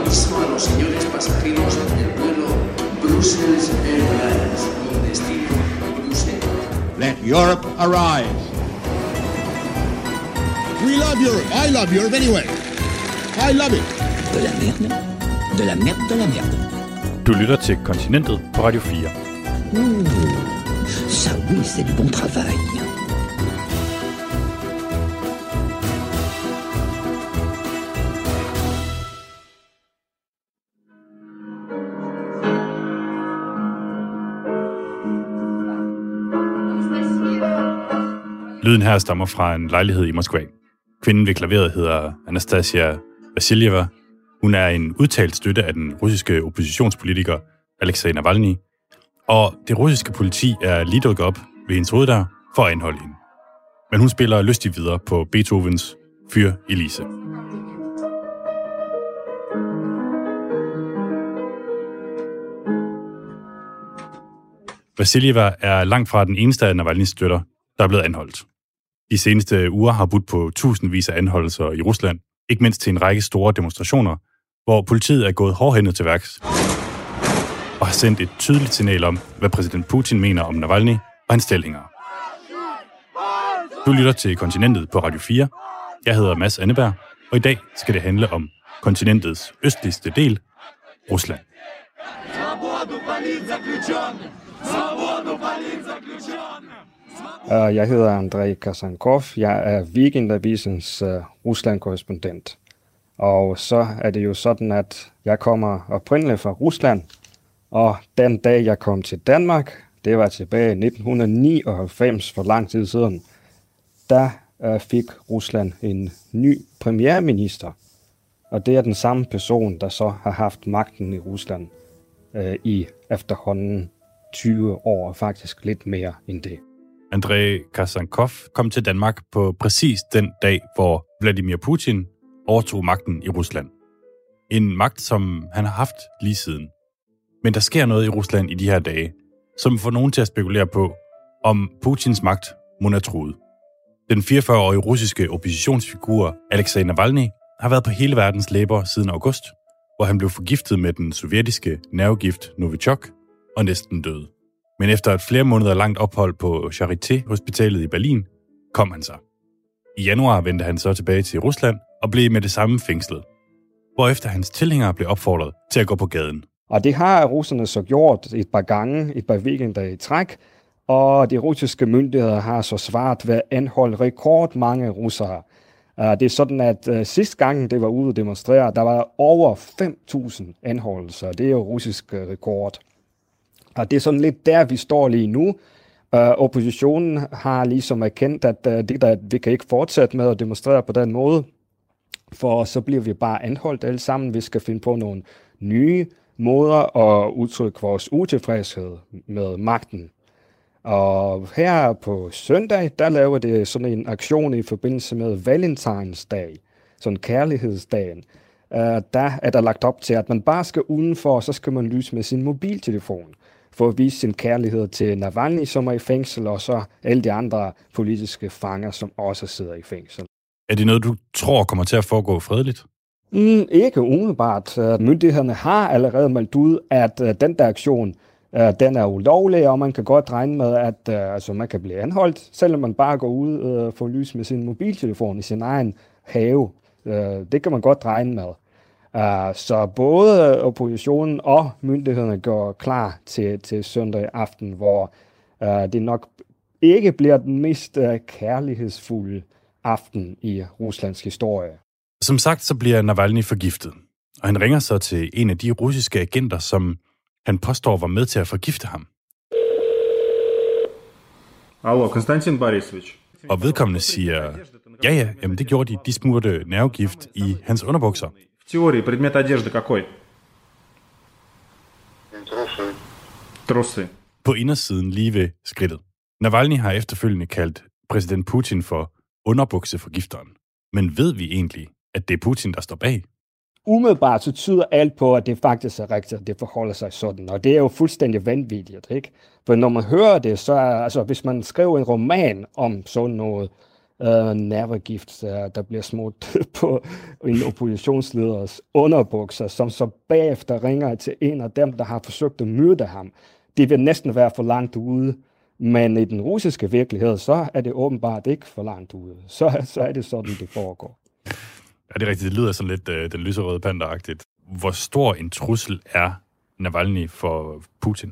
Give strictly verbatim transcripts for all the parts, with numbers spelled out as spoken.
aviso a los señores pasajeros del vuelo Brussels Airlines con destino Bruselas. Let Europe arise. We love Europe. I love Europe anyway. I love it. De la merde. De la merde, de la merde. Du lytter til Kontinentet på Radio fire. Mmh, ça oui, c'est du bon travail. Lyden her stammer fra en lejlighed i Moskva. Kvinden ved klaveret hedder Anastasia Vasiljeva. Hun er en udtalt støtte af den russiske oppositionspolitiker Alexei Navalny, og det russiske politi er lige dukket op ved hendes hoveddør for at anholde hende. Men hun spiller lystigt videre på Beethovens Für Elise. Vasiljeva er langt fra den eneste af Navalnys støtter, der er blevet anholdt. De seneste uger har budt på tusindvis af anholdelser i Rusland, ikke mindst til en række store demonstrationer, hvor politiet er gået hårdhændet til værks og har sendt et tydeligt signal om, hvad præsident Putin mener om Navalny og hans stillinger. Du lytter til Kontinentet på Radio fire. Jeg hedder Mads Anneberg, og i dag skal det handle om kontinentets østligste del, Rusland. Jeg hedder Andrei Kasankov. Jeg er Weekendavisens uh, Rusland-korrespondent. Og så er det jo sådan, at jeg kommer oprindeligt fra Rusland, og den dag, jeg kom til Danmark, det var tilbage i nitten nioghalvfems, for lang tid siden, der uh, fik Rusland en ny premierminister. Og det er den samme person, der så har haft magten i Rusland uh, i efterhånden tyve år, faktisk lidt mere end det. Andrei Kasankov kom til Danmark på præcis den dag, hvor Vladimir Putin overtog magten i Rusland. En magt, som han har haft lige siden. Men der sker noget i Rusland i de her dage, som får nogen til at spekulere på, om Putins magt må er truet. Den fireogfyrre-årige russiske oppositionsfigur Alexei Navalny har været på hele verdens læber siden august, hvor han blev forgiftet med den sovjetiske nervegift Novichok og næsten døde. Men efter et flere måneder langt ophold på Charité-hospitalet i Berlin, kom han så. I januar vendte han så tilbage til Rusland og blev med det samme fængslet, hvorefter hans tilhængere blev opfordret til at gå på gaden. Og det har russerne så gjort et par gange, et par weekender i træk, og de russiske myndigheder har så svaret ved at anholde rekordmange russere. Det er sådan, at uh, sidste gang det var ude at demonstrere, der var over fem tusind anholdelser. Det er jo russisk uh, rekord. Og det er sådan lidt der, vi står lige nu. Uh, oppositionen har ligesom erkendt, at uh, det der, vi kan ikke fortsætte med at demonstrere på den måde, for så bliver vi bare anholdt alle sammen. Vi skal finde på nogle nye måder at udtrykke vores utilfredshed med magten. Og her på søndag, der laver det sådan en aktion i forbindelse med Valentinsdag, sådan kærlighedsdagen. Uh, der er der lagt op til, at man bare skal udenfor, og så skal man lyse med sin mobiltelefon for at vise sin kærlighed til Navalny, som er i fængsel, og så alle de andre politiske fanger, som også sidder i fængsel. Er det noget, du tror kommer til at foregå fredeligt? Mm, ikke umiddelbart. Myndighederne har allerede meldt ud, at uh, den der aktion, uh, den er ulovlig, og man kan godt regne med, at uh, altså, man kan blive anholdt, selvom man bare går ud og uh, får lys med sin mobiltelefon i sin egen have. Uh, det kan man godt regne med. Uh, så både oppositionen og myndighederne går klar til, til søndag aften, hvor uh, det nok ikke bliver den mest uh, kærlighedsfulde aften i Ruslands historie. Som sagt, så bliver Navalny forgiftet, og han ringer så til en af de russiske agenter, som han påstår var med til at forgifte ham. Allo, Konstantin Borisovich. Og vedkommende siger, ja ja, jamen det gjorde de, de smurte nervegift i hans underbukser. В теории предмет одежды какой? Трусы. Трусы. På indersiden lige ved skridtet. Navalny har efterfølgende kaldt præsident Putin for underbukseforgifteren. Men ved vi egentlig, at det er Putin, der står bag? Umiddelbart så tyder alt på, at det faktisk er rigtigt, at det forholder sig sådan. Og det er jo fuldstændig vanvittigt, ikke? For når man hører det, så er, altså hvis man skriver en roman om sådan noget, uh, nervegift, uh, der bliver smurt på en oppositionsleders underbukser, som så bagefter ringer til en af dem, der har forsøgt at myrde ham. Det vil næsten være for langt ude, men i den russiske virkelighed, så er det åbenbart ikke for langt ude. Så, så er det sådan, det foregår. Ja, det er rigtigt. Det lyder sådan lidt uh, den lyserøde panda-agtigt. Hvor stor en trussel er Navalny for Putin?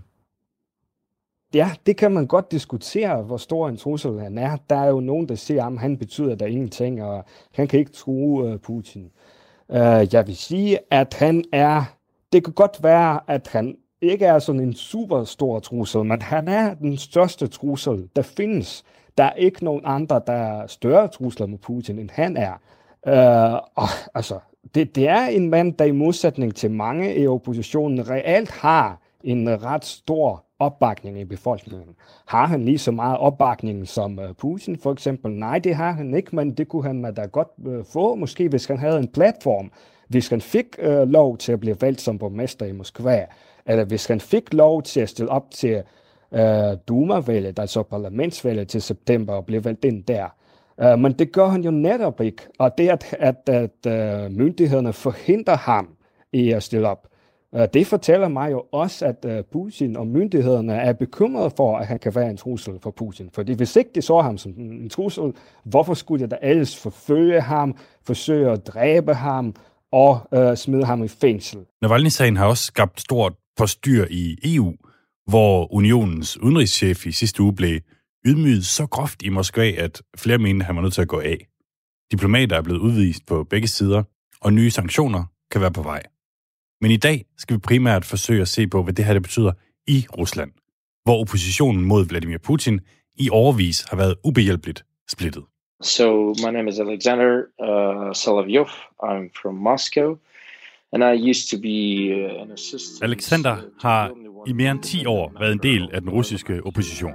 Ja, det kan man godt diskutere, hvor stor en trussel han er. Der er jo nogen, der siger, at han betyder der ingenting, og han kan ikke true uh, Putin. Uh, jeg vil sige, at han er... Det kan godt være, at han ikke er sådan en super stor trussel, men han er den største trussel, der findes. Der er ikke nogen andre, der er større trusler med Putin, end han er. Uh, og, altså, det, det er en mand, der i modsætning til mange i oppositionen reelt har en ret stor opbakning i befolkningen. Har han lige så meget opbakning som uh, Putin for eksempel? Nej, det har han ikke, men det kunne han da godt uh, få, måske hvis han havde en platform. Hvis han fik uh, lov til at blive valgt som borgmester i Moskva, eller hvis han fik lov til at stille op til uh, Duma-valget, altså parlamentsvalget til september, og blive valgt ind der. Uh, men det gør han jo netop ikke, og det at, at, at uh, myndighederne forhindrer ham i at stille op, uh, det fortæller mig jo også, at uh, Putin og myndighederne er bekymrede for, at han kan være en trussel for Putin. Fordi hvis ikke de så ham som en trussel, hvorfor skulle de da ellers forfølge ham, forsøge at dræbe ham og uh, smide ham i fængsel? Navalny-sagen har også skabt stort forstyr i E U, hvor unionens udenrigschef i sidste uge blev ydmyget så groft i Moskva, at flere mente, han var nødt til at gå af. Diplomater er blevet udvist på begge sider, og nye sanktioner kan være på vej. Men i dag skal vi primært forsøge at se på, hvad det her det betyder i Rusland, hvor oppositionen mod Vladimir Putin i årevis har været ubehjælpeligt splittet. So my name is Alexander uh, Solovyov. I'm from Moscow, and I used to be uh, an assistant. Alexander har i mere end ti år været en del af den russiske opposition.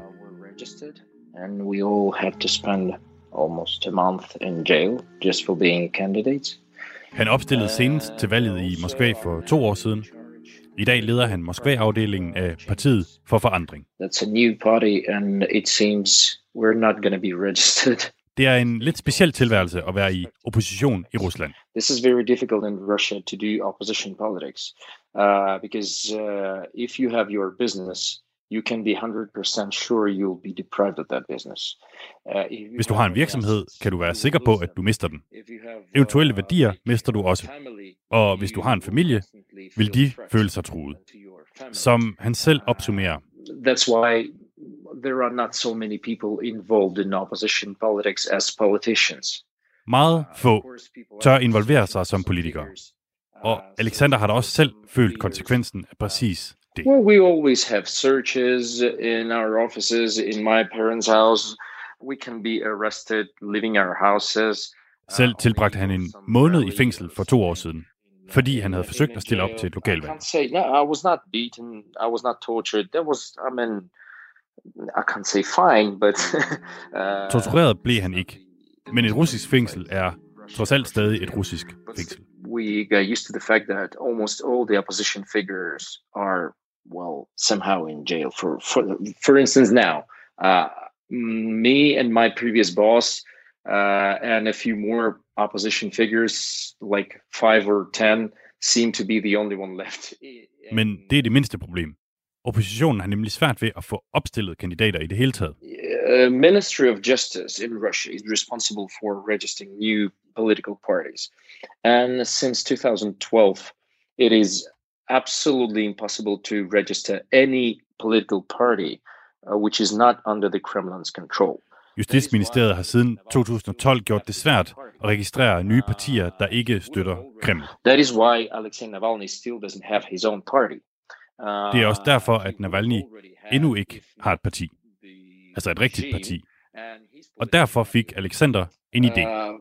And we all had to spend almost a month in jail just for being candidates. Han opstillede senest til valget i Moskva for to år siden. I dag leder han Moskva-afdelingen af Partiet for Forandring. That's a new party, and it seems we're not going to be registered. Det er en lidt speciel tilværelse at være i opposition i Rusland. This is very difficult in Russia to do opposition politics, uh, because uh, if you have your business, you can be one hundred percent sure you'll be deprived of that business. Uh, Hvis du har en virksomhed, kan du være sikker på, at du mister den. Eventuelle værdier mister du også. Og hvis du har en familie, vil de føle sig truet. Som han selv opsummerer. That's why there are not so many people involved in opposition politics as politicians. Meget få tør involvere sig som politikere. Og Alexander har da også selv følt konsekvensen af præcis det. Well, we always have searches in our offices, in my parents' house. We can be arrested, leaving our houses. Selv tilbragte han en måned i fængsel for to år siden, fordi han havde forsøgt at stille op til et lokalvalg. I can't say, no, I was not beaten, I was not tortured. There was, I mean, I can't say fine, but... uh, Tortureret blev han ikke, men et russisk fængsel er trods alt stadig et russisk fængsel. We got used to the fact that almost all the opposition figures are, well, somehow in jail. For for, for instance, now, uh, me and my previous boss uh, and a few more opposition figures, like five or ten, seem to be the only one left. Men det er det mindste problem. Oppositionen har nemlig svært ved at få opstillet kandidater i det hele taget. Uh, Ministry of Justice in Russia is responsible for registering new political parties. And since two thousand twelve, it is absolutely impossible to register any political party uh, which is not under the Kremlin's control. Justitsministeriet har siden to tusind og tolv gjort det svært at registrere nye partier, der ikke støtter Kreml. That is why Alexei Navalny still doesn't have his own party. Det er også derfor, at Navalny endnu ikke har et parti. Altså et rigtigt parti. Og derfor fik Alexander en idé. Uh,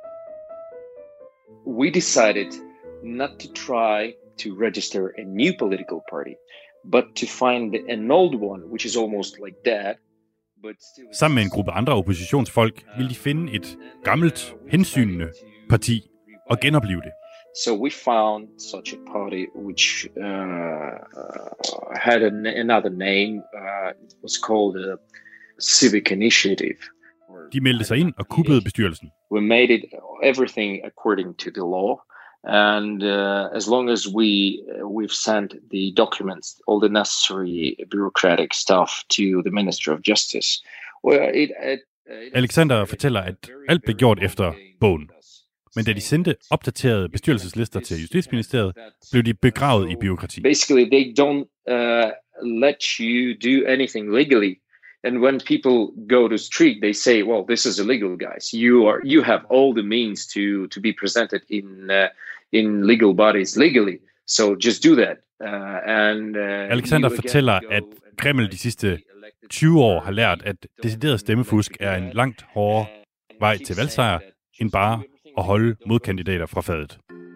we decided not to try to register a new political party, but to find an old one, which is almost like that. But still... Sammen med en gruppe andre oppositionsfolk ville de finde et gammelt, hensynende parti og genopleve det. So we found such a party which uh, uh, had an, another name. Uh, it was called a Civic Initiative. De meldte sig ind og kuppede bestyrelsen. We made it everything according to the law. And uh, as long as we uh, we've sent the documents, all the necessary bureaucratic stuff to the Ministry of Justice, well, it, it, it Alexander fortæller, at alt blev gjort efter bogen. Men da de sendte opdaterede bestyrelseslister til Justitsministeriet, blev de begravet i bureaukrati. Basically, they don't uh, let you do anything legally. And when people go to street, they say, "Well, this is illegal, guys. You are you have all the means to to be presented in uh, in legal bodies legally. So just do that." Uh, and uh, Alexander fortæller, at Kreml de sidste tyve år har lært, at decideret stemmefusk er en langt hårdere vej til valgsejr, end bare at holde modkandidater fra fadet.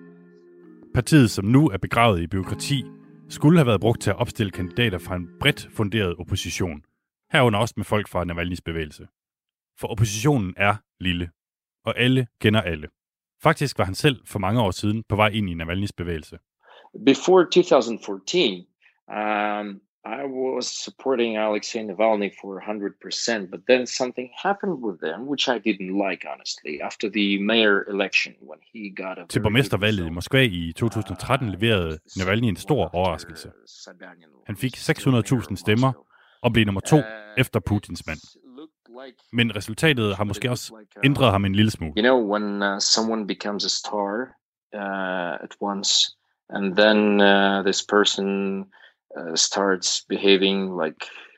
Partiet, som nu er begravet i bureaukrati, skulle have været brugt til at opstille kandidater fra en bredt funderet opposition, herunder også med folk fra Navalnyjs bevægelse. For oppositionen er lille, og alle kender alle. Faktisk var han selv for mange år siden på vej ind i Navalnyjs bevægelse. Before twenty fourteen, um, I was supporting Alexei Navalny for one hundred percent, but then something happened with them, which I didn't like, honestly. After the mayor election, when he got a Til borgmestervalget i Moskva i to tusind og tretten leverede Navalny en stor overraskelse. Han fik seks hundrede tusind stemmer og blev nummer to efter Putins mand. Men resultatet har måske også ændret ham en lille smule. You know, when uh, someone becomes a star uh, at once, and then uh, this person uh, starts behaving like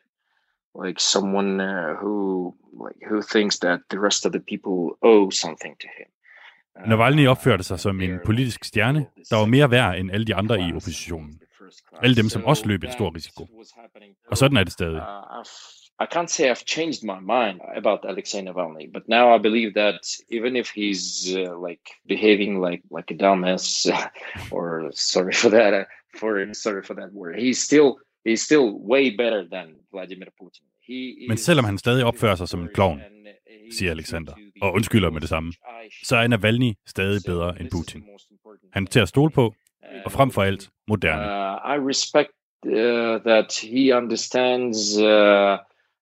like someone uh, who like who thinks that the rest of the people owe something to him. Uh, Navalny opførte sig som en politisk stjerne, der var mere værd end alle de andre i oppositionen. Alle dem, som også løb en stor risiko. Og sådan er det stadig. I can't say I've changed my mind about Alexei Navalny, but now I believe that even if he's uh, like behaving like like a dumbass, or sorry for that, uh, for sorry for that word, he's still he's still way better than Vladimir Putin. He Men selvom han stadig opfører sig som en klovn, siger Alexander, og undskylder med det samme, så er Navalny stadig bedre end Putin. Han er til at stole på, og frem for alt moderne. Uh, I respect uh, that he understands uh,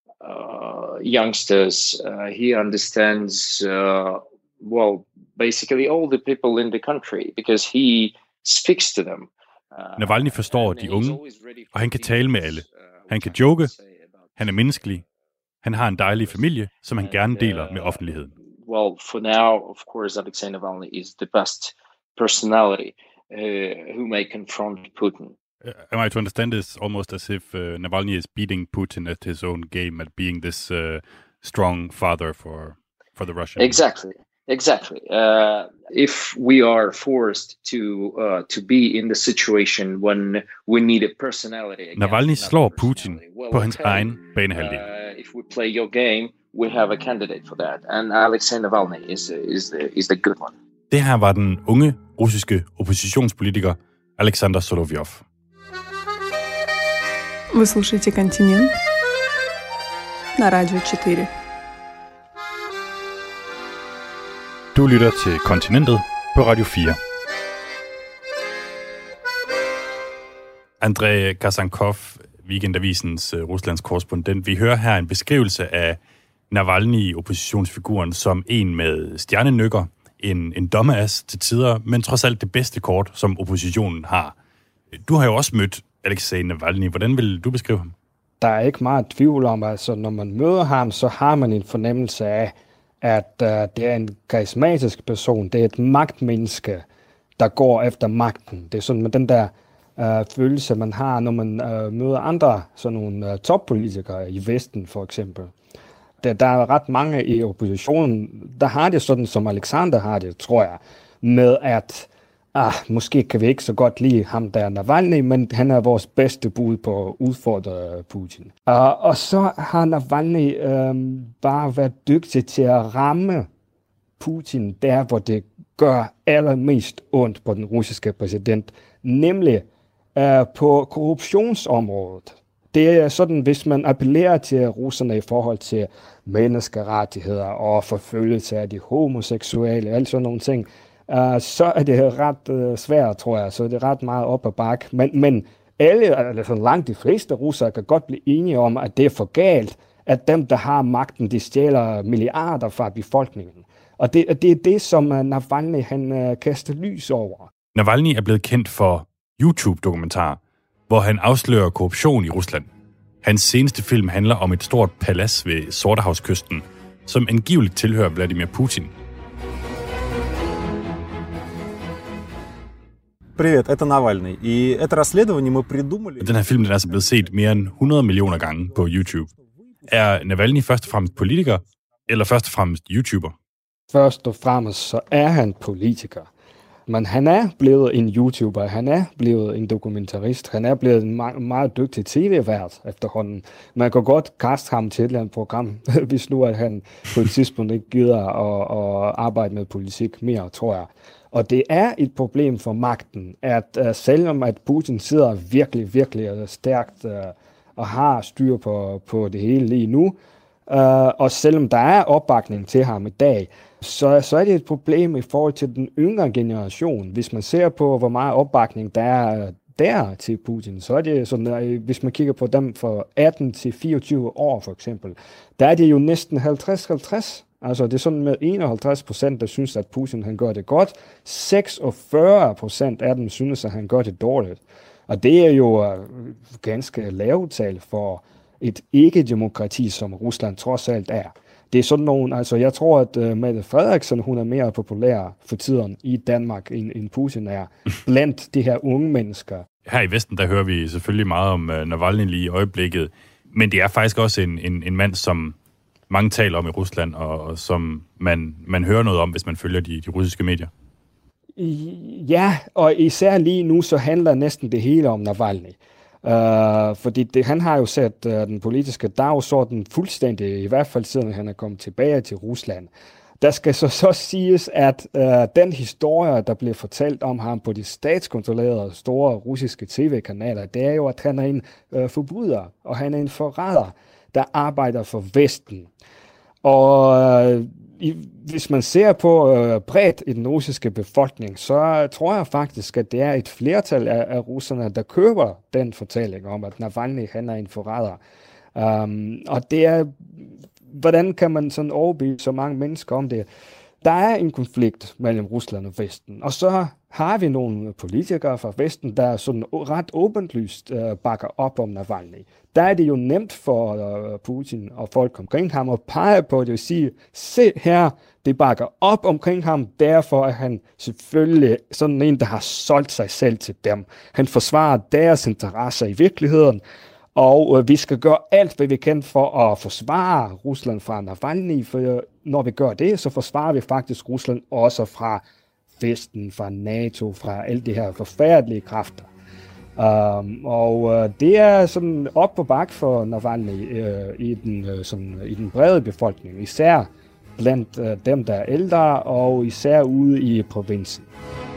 uh, youngsters. Uh, he understands, uh, well, basically all the people in the country, because he speaks to them. Uh, Navalny forstår de unge, og han kan tale med alle. Han kan joke, han er menneskelig, han har en dejlig familie, som han gerne deler med offentligheden. Well, for now, of course, Alexei Navalny is the best personality uh, who may confront Putin. Uh, am I to understand this almost as if uh, Navalny is beating Putin at his own game, at being this uh, strong father for for the Russians? Exactly, exactly. Uh, if we are forced to uh, to be in the situation when we need a personality, Navalny slår Putin på hans egen banehalvdel. Uh, if we play your game, we have a candidate for that, and Alexei Navalny is is the is the good one. Det her var den unge russiske oppositionspolitiker Alexander Solovjov. Вы слушаете «Континент» на Радио четыре. Du lytter til Kontinentet på Radio fire. Andrei Kasankov, Weekendavisens uh, Ruslands korrespondent. Vi hører her en beskrivelse af Navalny, oppositionsfiguren, som en med stjernenykker, en, en dumbass til tider, men trods alt det bedste kort, som oppositionen har. Du har jo også mødt Alexei Navalny. Hvordan vil du beskrive ham? Der er ikke meget tvivl om, altså når man møder ham, så har man en fornemmelse af, at uh, det er en karismatisk person. Det er et magtmenneske, der går efter magten. Det er sådan med den der uh, følelse, man har, når man uh, møder andre sådan nogle uh, toppolitikere i Vesten, for eksempel. Der, der er ret mange i oppositionen, der har det sådan, som Alexander har det, tror jeg, med at ah, måske kan vi ikke så godt lide ham der Navalny, men han er vores bedste bud på at udfordre Putin. Uh, og så har Navalny um, bare været dygtig til at ramme Putin der, hvor det gør allermest ondt på den russiske præsident, nemlig uh, på korruptionsområdet. Det er sådan, hvis man appellerer til russerne i forhold til menneskerettigheder og forfølgelse af de homoseksuelle, alt sådan nogle ting, Uh, så er det ret uh, svært, tror jeg. Så er det ret meget op ad bakke. Men, men alle, altså langt de fleste russere, kan godt blive enige om, at det er for galt, at dem, der har magten, de stjæler milliarder fra befolkningen. Og det, det er det, som Navalny han uh, kaster lys over. Navalny er blevet kendt for YouTube-dokumentarer, hvor han afslører korruption i Rusland. Hans seneste film handler om et stort palads ved Sortehavskysten, som angiveligt tilhører Vladimir Putin. Привет, это Навальный. И это расследование мы придумали. Den her film den er altså blevet set mere end hundrede millioner gange på YouTube. Er Navalny først og fremmest politiker, eller først og fremmest YouTuber? Først og fremmest så er han politiker. Men han er blevet en YouTuber, han er blevet en dokumentarist, han er blevet en meget, meget dygtig tv-vært efterhånden. Man kan godt kaste ham til et eller andet program, hvis nu at han på et tidspunkt ikke gider at, at arbejde med politik mere, tror jeg. Og det er et problem for magten, at uh, selvom at Putin sidder virkelig, virkelig stærkt uh, og har styr på, på det hele lige nu, uh, og selvom der er opbakning til ham i dag, så, så er det et problem i forhold til den yngre generation. Hvis man ser på, hvor meget opbakning der er der til Putin, så er det sådan, at hvis man kigger på dem fra atten til fireogtyve år for eksempel, der er det jo næsten halvtreds halvtreds. Altså det er sådan med enoghalvtreds procent, der synes, at Putin han gør det godt. seksogfyrre procent af dem synes, at han gør det dårligt. Og det er jo uh, ganske lavt tal for et ikke-demokrati, som Rusland trods alt er. Det er sådan nogen, altså jeg tror, at uh, Mette Frederiksen, hun er mere populær for tiden i Danmark, end, end Putin er, blandt de her unge mennesker. Her i Vesten, der hører vi selvfølgelig meget om uh, Navalny lige i øjeblikket, men det er faktisk også en, en, en mand, som mange taler om i Rusland, og, og som man, man hører noget om, hvis man følger de, de russiske medier. Ja, og især lige nu, så handler næsten det hele om Navalny. Uh, fordi det, han har jo sat uh, den politiske dagsorden fuldstændig, i hvert fald siden han er kommet tilbage til Rusland. Der skal så, så siges, at uh, den historie, der bliver fortalt om ham på de statskontrollerede store russiske tv-kanaler, det er jo, at han er en uh, forbryder, og han er en forræder, der arbejder for Vesten. Og øh, i, hvis man ser på øh, bredt i den russiske befolkning, så tror jeg faktisk, at det er et flertal af, af russerne, der køber den fortælling om, at Navalny han er en forræder. Um, og det er, hvordan kan man sådan overbevise så mange mennesker om det? Der er en konflikt mellem Rusland og Vesten, og så har vi nogle politikere fra Vesten, der sådan ret åbenlyst uh, bakker op om Navalny. Der er det jo nemt for uh, Putin og folk omkring ham at pege på det og sige, se her, det bakker op omkring ham, derfor er han selvfølgelig sådan en, der har solgt sig selv til dem. Han forsvarer deres interesser i virkeligheden, og uh, vi skal gøre alt, hvad vi kan for at forsvare Rusland fra Navalny, for uh, når vi gør det, så forsvarer vi faktisk Rusland også fra Vesten, fra NATO, fra alle de her forfærdelige kræfter. Um, og uh, det er sådan op på bak for Navalny uh, i, den, uh, sådan, i den brede befolkning, især blandt uh, dem, der er ældre, og især ude i provinsen.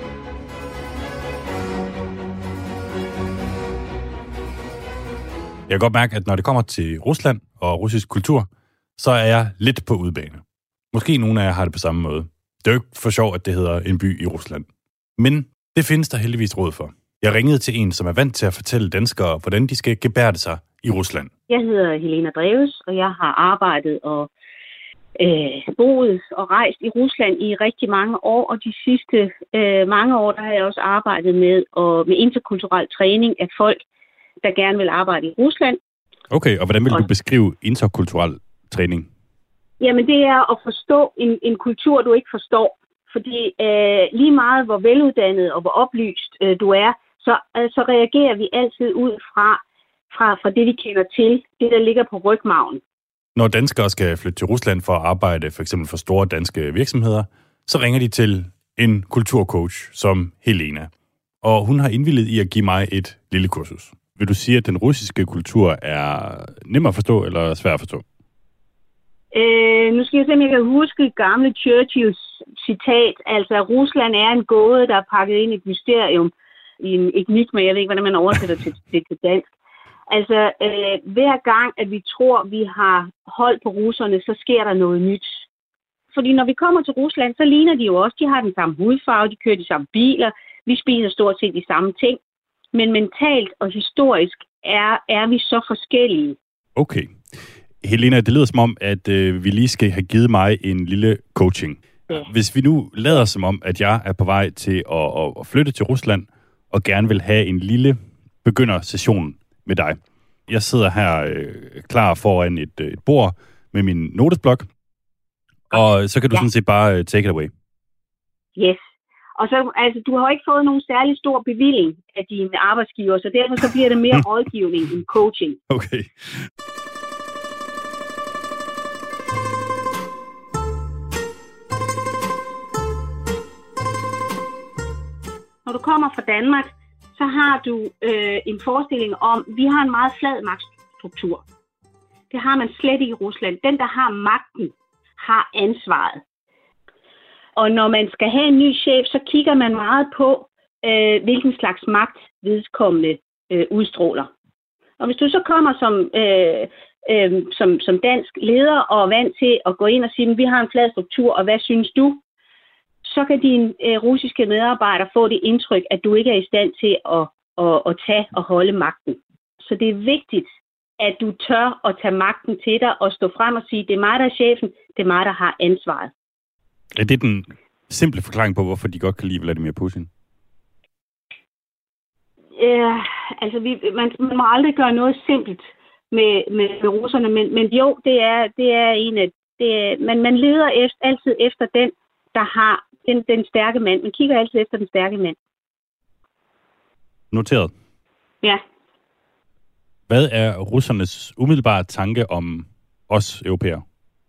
Jeg kan godt mærke, at når det kommer til Rusland og russisk kultur, så er jeg lidt på udebane. Måske nogle af jer har det på samme måde. Det er jo ikke for sjov, at det hedder en by i Rusland. Men det findes der heldigvis råd for. Jeg ringede til en, som er vant til at fortælle danskere, hvordan de skal gebærde sig i Rusland. Jeg hedder Helena Dreves, og jeg har arbejdet og øh, boet og rejst i Rusland i rigtig mange år. Og de sidste øh, mange år, der har jeg også arbejdet med, og, med interkulturel træning af folk, der gerne vil arbejde i Rusland. Okay, og hvordan vil du beskrive interkulturel træning? Jamen, det er at forstå en, en kultur, du ikke forstår. Fordi øh, lige meget, hvor veluddannet og hvor oplyst øh, du er, så, øh, så reagerer vi altid ud fra, fra, fra det, vi kender til, det, der ligger på rygmarven. Når danskere skal flytte til Rusland for at arbejde for eksempel for store danske virksomheder, så ringer de til en kulturcoach som Helena. Og hun har indvilliget i at give mig et lille kursus. Vil du sige, at den russiske kultur er nemmere at forstå eller svær at forstå? Øh, nu skal jeg se, om jeg kan huske gamle Churchills citat. Altså, Rusland er en gåde, der er pakket ind i et mysterium. I en enigma, jeg ved ikke, hvordan man oversætter til, til, til dansk. Altså, øh, hver gang, at vi tror, vi har hold på russerne, så sker der noget nyt. Fordi når vi kommer til Rusland, så ligner de jo også, de har den samme hudfarve, de kører de samme biler, vi spiser stort set de samme ting. Men mentalt og historisk er, er vi så forskellige. Okay. Helena, det lyder som om, at øh, vi lige skal have givet mig en lille coaching. Ja. Hvis vi nu lader som om, at jeg er på vej til at, at, at flytte til Rusland, og gerne vil have en lille begyndersession med dig. Jeg sidder her øh, klar foran et, et bord med min notesblok, og så kan du ja. sådan set bare uh, take it away. Yes. Og så, altså, du har jo ikke fået nogen særlig stor bevilling af dine arbejdsgiver, så derfor så bliver det mere rådgivning end coaching. Okay. Når du kommer fra Danmark, så har du øh, en forestilling om, at vi har en meget flad magtstruktur. Det har man slet ikke i Rusland. Den, der har magten, har ansvaret. Og når man skal have en ny chef, så kigger man meget på, øh, hvilken slags magt vedkommende øh, udstråler. Og hvis du så kommer som, øh, øh, som, som dansk leder og er vant til at gå ind og sige, at vi har en flad struktur, og hvad synes du? Så kan dine øh, russiske medarbejdere få det indtryk, at du ikke er i stand til at, at, at tage og holde magten. Så det er vigtigt, at du tør at tage magten til dig og stå frem og sige, det er mig, der er chefen, det er mig, der har ansvaret. Er det den simple forklaring på, hvorfor de godt kan lide Vladimir Putin? Ja, altså vi, man, man må aldrig gøre noget simpelt med, med, med russerne, men, men jo, det er, det er en af... Det er, man, man leder efter, altid efter den, der har den, den stærke mand. Man kigger altid efter den stærke mand. Noteret. Ja. Hvad er russernes umiddelbare tanke om os europæere?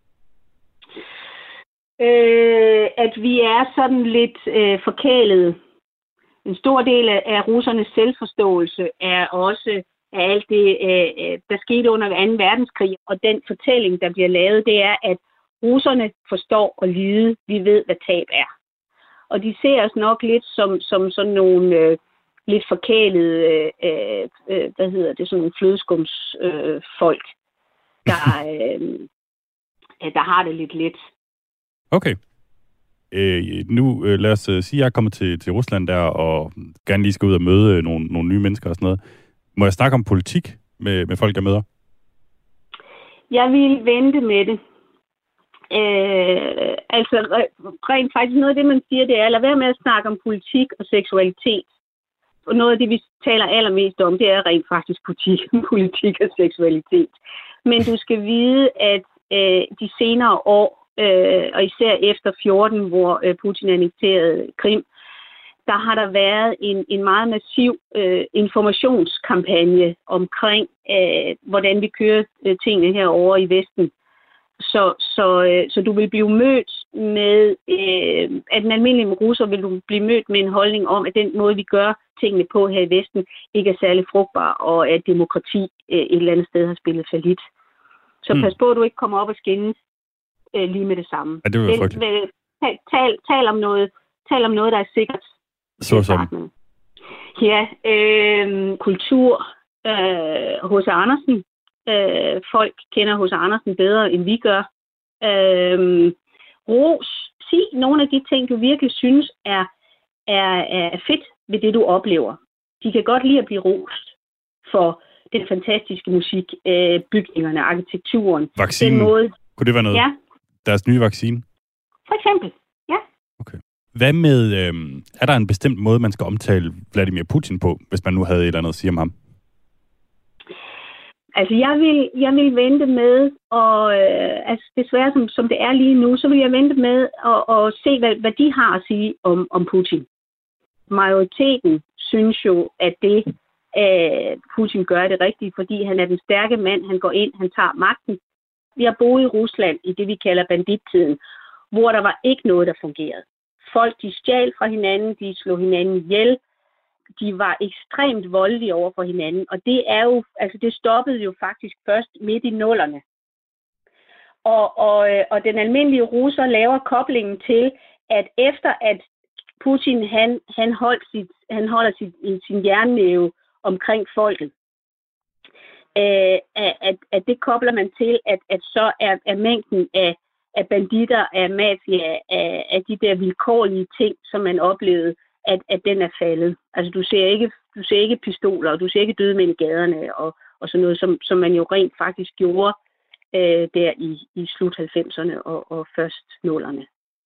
Øh, at vi er sådan lidt øh, forkælede. En stor del af russernes selvforståelse er også af alt det, øh, der skete under anden verdenskrig. Og den fortælling, der bliver lavet, det er, at russerne forstår at lide. Vi ved, hvad tab er. Og de ser os nok lidt som, som sådan nogle øh, lidt forkælede, øh, øh, hvad hedder det, sådan nogle flødeskumsfolk, øh, folk, der, øh, der har det lidt let. Okay. Øh, nu øh, lad os øh, sige, at jeg er kommet til, til Rusland der, og gerne lige skal ud og møde øh, nogle, nogle nye mennesker og sådan noget. Må jeg snakke om politik med, med folk, jeg møder? Jeg vil vente med det. Øh, altså rent faktisk noget af det, man siger, det er, lad være med at snakke om politik og seksualitet. Og noget af det, vi taler allermest om, det er rent faktisk politik, politik og seksualitet. Men du skal vide, at øh, de senere år, øh, og især efter fjorten, hvor øh, Putin annekterede Krim, der har der været en, en meget massiv øh, informationskampagne omkring, øh, hvordan vi kører øh, tingene herovre i Vesten. Så, så, øh, så du vil blive mødt med, øh, at en almindelig russer vil du blive mødt med en holdning om, at den måde, vi gør tingene på her i Vesten, ikke er særlig frugtbar, og at demokrati øh, et eller andet sted har spillet fallit. Så mm. pas på, at du ikke kommer op og skændes øh, lige med det samme. Ja, det vil frygteligt. Tal, tal, tal, om noget, tal om noget, der er sikkert. Så som. Ja, øh, kultur. H C Øh, Andersen. Øh, folk kender H C Andersen bedre, end vi gør. Øh, ros. Sig nogle af de ting, du virkelig synes er, er, er fedt ved det, du oplever. De kan godt lide at blive rost for den fantastiske musik, øh, bygningerne, arkitekturen. Vaccinen. Den måde. Kunne det være noget? Ja. Deres nye vaccine? For eksempel, ja. Okay. Hvad med, øh, er der en bestemt måde, man skal omtale Vladimir Putin på, hvis man nu havde et eller andet at sige om ham? Altså, jeg vil, jeg vil vente med, og øh, altså, desværre som, som det er lige nu, så vil jeg vente med at, at se, hvad, hvad de har at sige om, om Putin. Majoriteten synes jo, at det, øh, Putin gør det rigtigt, fordi han er den stærke mand, han går ind, han tager magten. Vi har boet i Rusland i det, vi kalder bandittiden, hvor der var ikke noget, der fungerede. Folk, de stjal fra hinanden, de slog hinanden ihjel, de var ekstremt voldelige over for hinanden, og det er jo, altså det stoppede jo faktisk først midt i nullerne. Og, og, og den almindelige russer laver koblingen til, at efter at Putin han, han, holdt sit, han holder sit, sin jernnæve omkring folket, øh, at, at det kobler man til, at, at så er, er mængden af, af banditter, af mafia, af, af de der vilkårlige ting, som man oplevede, at, at den er faldet. Altså du ser ikke, du ser ikke pistoler, og du ser ikke døde mænd i gaderne, og, og sådan noget, som, som man jo rent faktisk gjorde øh, der i, i slut halvfemserne og, og først nullerne.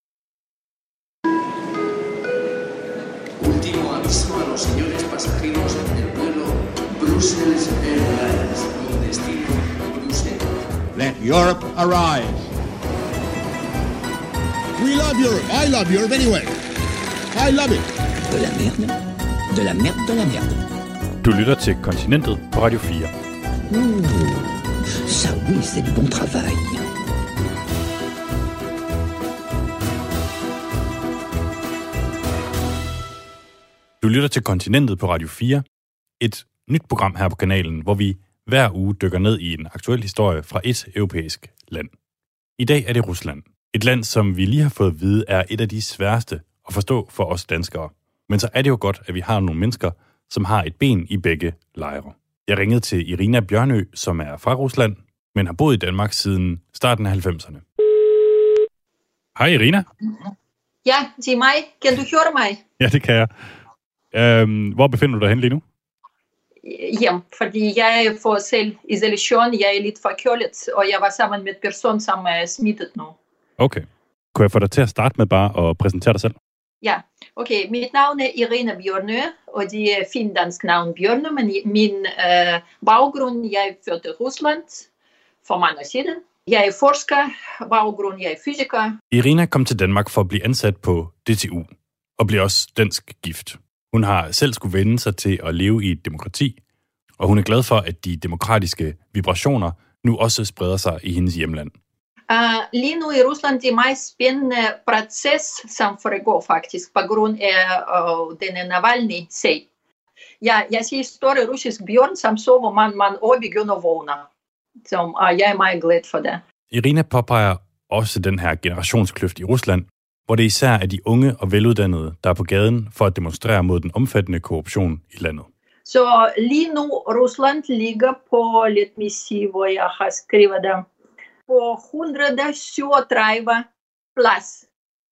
Último aviso a los señores pasajeros del vuelo Brussels Airlines, con destino Bruselas. Let Europe arise. We love Europe. I love Europe anyway. I love it. De la merde, de la merde, de la merde. Du lytter til Kontinentet på Radio fire. Ouh, ça oui, c'est du bon travail. Du lytter til Kontinentet på Radio fire, et nyt program her på kanalen, hvor vi hver uge dykker ned i en aktuel historie fra et europæisk land. I dag er det Rusland. Et land, som vi lige har fået at vide, er et af de sværeste at forstå for os danskere. Men så er det jo godt, at vi har nogle mennesker, som har et ben i begge lejre. Jeg ringede til Irina Bjørnø, som er fra Rusland, men har boet i Danmark siden starten af halvfemserne. Hej Irina. Ja, det er mig. Kan du høre mig? Ja, det kan jeg. Øhm, hvor befinder du dig hen lige nu? Hjem, fordi jeg er for selv isolation. Jeg er lidt forkølet, og jeg var sammen med en person, som er smittet nu. Okay. Kunne jeg få dig til at starte med bare at præsentere dig selv? Ja, okay. Mit navn er Irina Bjørnø, og det er fint dansk navn Bjørnø, men min øh, baggrund, jeg er født i Rusland for mange år siden. Jeg er forsker, baggrund, jeg er fysiker. Irina kom til Danmark for at blive ansat på D T U, og blev også dansk gift. Hun har selv skulle vende sig til at leve i et demokrati, og hun er glad for, at de demokratiske vibrationer nu også spreder sig i hendes hjemland. Uh, lige nu i Rusland det er meget spændende proces, som foregår faktisk, på grund af uh, denne Navalny-sag. Jeg, jeg siger store russisk bjørn, som så, hvor man, man også begynder at vågne. Så uh, jeg er meget glad for det. Irina påpeger også den her generationskløft i Rusland, hvor det især er de unge og veluddannede, der er på gaden for at demonstrere mod den omfattende korruption i landet. Så lige nu Rusland ligger på, let me see, hvor jeg har skrevet det, på et hundrede og syvogtredive plads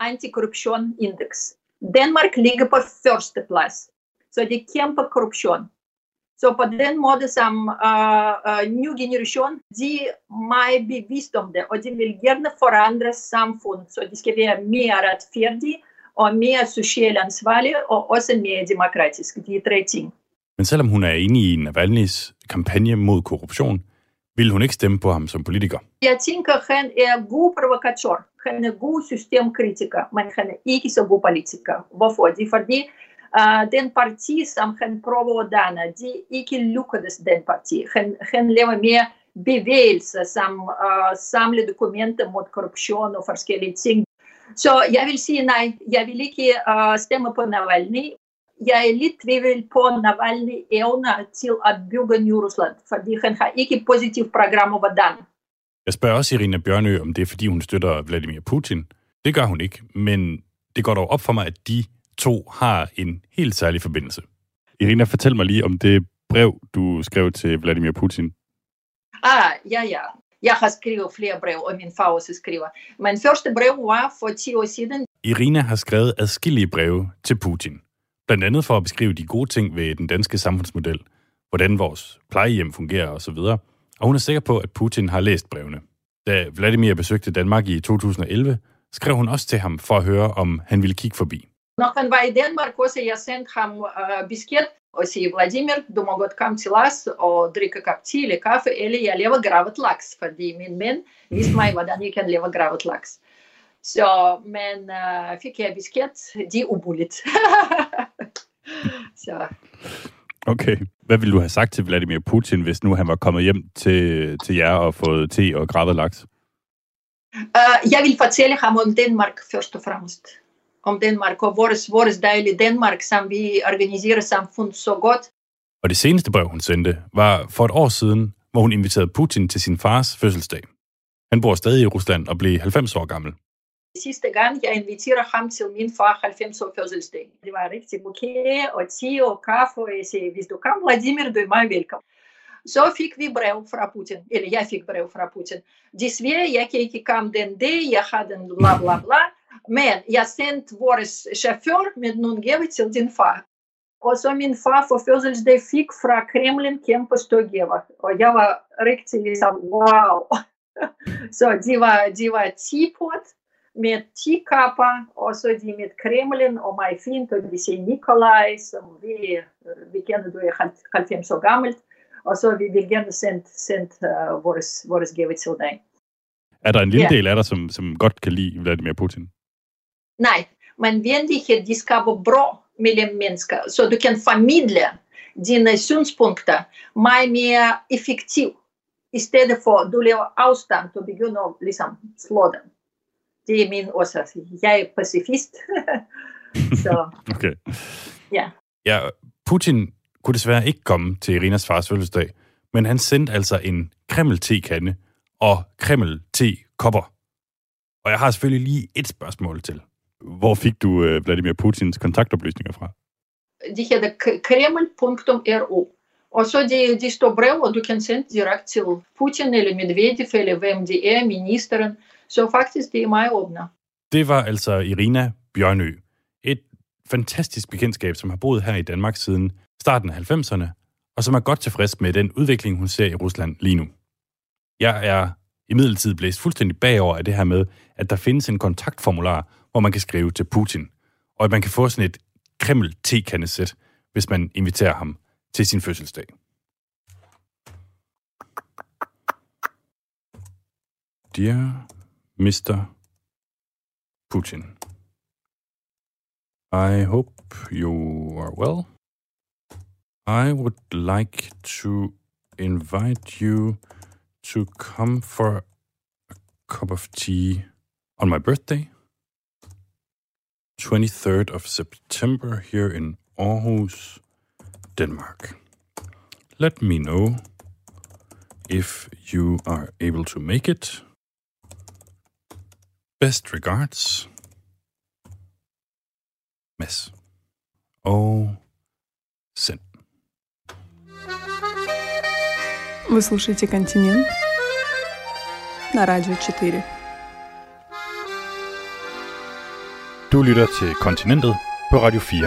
antikorruption-indeks. Danmark ligger på første plads, så det er kæmpe korruption. Så på den måde som uh, uh, ny generation, de er meget bevidst om det, og de vil gerne forandre samfundet, så de skal være mere retfærdige og mere socialt ansvarlige og også mere demokratiske. De er tre ting. Men selvom hun er enig i Navalnys kampagne mod korruption, vil hun ikke stemme på ham som politiker. Jeg tænker, at han er god provokatør. Han er god systemkritiker, men han er ikke så god politiker. Hvorfor? Det er fordi, uh, den parti, som han prøver at danne, de ikke lykkedes den parti. Han, han laver mere bevægelser, som uh, samler dokumenter mod korruption og forskellige ting. Så jeg vil sige nej, jeg vil ikke uh, stemme på Navalny. Jeg er lidt tvivl på Navalny evner til at bygge Ny Rusland, fordi han har ikke positivt program over Dan. Jeg spørger også Irina Bjørnø, om det er, fordi hun støtter Vladimir Putin. Det gør hun ikke, men det går dog op for mig, at de to har en helt særlig forbindelse. Irina, fortæl mig lige om det brev, du skrev til Vladimir Putin. Ah, ja, ja. Jeg har skrevet flere brev, og min far også skriver. Men første brev var for ti år siden. Irina har skrevet adskillige breve til Putin. Blandt andet for at beskrive de gode ting ved den danske samfundsmodel, hvordan vores plejehjem fungerer osv. Og hun er sikker på, at Putin har læst brevene. Da Vladimir besøgte Danmark i to tusind og elleve, skrev hun også til ham for at høre, om han ville kigge forbi. Når han var i Danmark, også jeg sendte ham uh, besked og sige, Vladimir, du må godt komme til os og drikke kop te eller kaffe, eller jeg laver gravet laks, fordi min mænd viste mig, hvordan jeg kan lave gravet laks. Så, men uh, fik jeg besked, de er umuligt. Så. Okay. Hvad ville du have sagt til Vladimir Putin, hvis nu han var kommet hjem til, til jer og fået te og gravet laks? Uh, jeg vil fortælle ham om Danmark først og fremmest. Om Danmark og vores, vores dejlige Danmark, som vi organiserer samfundet så godt. Og det seneste brev, hun sendte, var for et år siden, hvor hun inviterede Putin til sin fars fødselsdag. Han bor stadig i Rusland og blev halvfems år gammel. Sidste gang, jeg inviterer ham til min far halvfems år fødselsdag. Det var rigtig bouquet og te og kaffe, og jeg sagde, hvis du kom, Vladimir, du er meget velkommen. Så fik vi brev fra Putin, eller jeg fik brev fra Putin. Desværre, jeg kan ikke komme den dag, jeg havde den bla bla bla, men jeg sendte vores chauffør med nogle gaver til din far. Og så min far for fødselsdag fik fra Kremlin kæmpe store gaver, og jeg var rigtig ligesom, wow. Så de var, de var ti-pot med ti kapper, og så de med Kremlin og mig fint, og vi siger Nikolaj, som vi, vi kender, du er halvfems år gammelt, og så vi vil gerne sende, sende uh, vores, vores gave til dig. Er der en lille Ja. del af dig, som, som godt kan lide Vladimir Putin? Nej, men venlighed, de skaber bro mellem mennesker, så du kan formidle dine synspunkter meget mere effektivt, i stedet for at du laver afstand og begynder at ligesom slå dem. Det er min årsag. Jeg er pacifist. Så, Okay. ja. Ja, Putin kunne desværre ikke komme til Irinas fars fødselsdag, men han sendte altså en Kreml-tekande og Kreml-tekopper. Og jeg har selvfølgelig lige et spørgsmål til. Hvor fik du uh, Vladimir Putins kontaktoplysninger fra? De hedder kreml punktum r u. Og så de, de står brev, og du kan sende direkte til Putin eller Medvedev, eller hvem det er, ministeren. Så faktisk, det er meget åbne. Det var altså Irina Bjørnø. Et fantastisk bekendtskab, som har boet her i Danmark siden starten af halvfemserne, og som er godt tilfreds med den udvikling, hun ser i Rusland lige nu. Jeg er imidlertid blæst fuldstændig bagover af det her med, at der findes en kontaktformular, hvor man kan skrive til Putin, og at man kan få sådan et Kreml-tekandesæt, hvis man inviterer ham til sin fødselsdag. Dear mister Putin, I hope you are well. I would like to invite you to come for a cup of tea on my birthday, twenty-third of September, here in Aarhus, Denmark. Let me know if you are able to make it. Best regards, Mads. Og send. Вы слушаете «Континент» на Радио четыре. Du lytter til Kontinentet på Radio fire.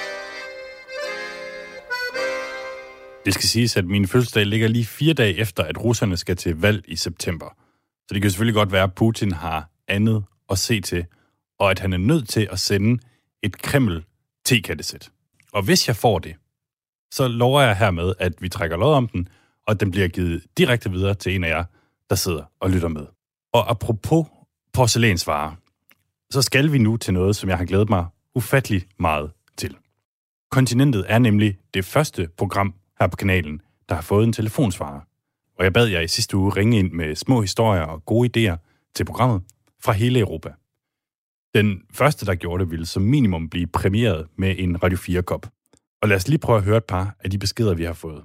Det skal siges, at min fødselsdag ligger lige fire dage efter, at russerne skal til valg i september. Så det kan selvfølgelig godt være, at Putin har andet at se til, og at han er nødt til at sende et Kreml-tekandesæt. Og hvis jeg får det, så lover jeg hermed, at vi trækker lod om den, og at den bliver givet direkte videre til en af jer, der sidder og lytter med. Og apropos porcelænsvarer, så skal vi nu til noget, som jeg har glædet mig ufattelig meget til. Kontinentet er nemlig det første program her på kanalen, der har fået en telefonsvarer. Og jeg bad jer i sidste uge ringe ind med små historier og gode idéer til programmet fra hele Europa. Den første, der gjorde det, ville som minimum blive præmieret med en Radio fire-kop. Og lad os lige prøve at høre et par af de beskeder, vi har fået.